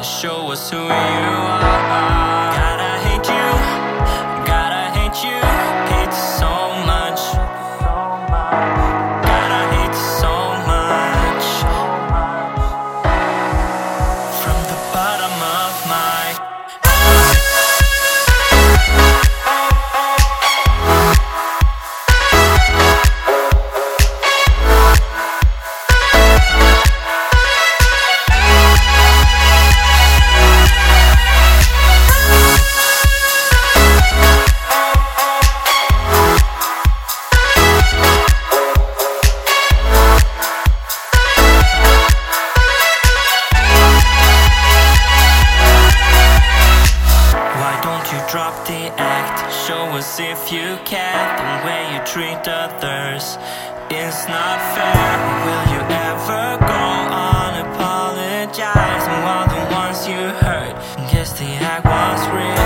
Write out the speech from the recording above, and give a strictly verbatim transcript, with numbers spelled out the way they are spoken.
show us who you are. Gotta hate you, gotta hate you, hate you so much. Gotta hate you so much. From the bottom of my drop the act, show us if you care. The way you treat others is not fair. Will you ever go on apologizing while the ones you hurt guess the act was real?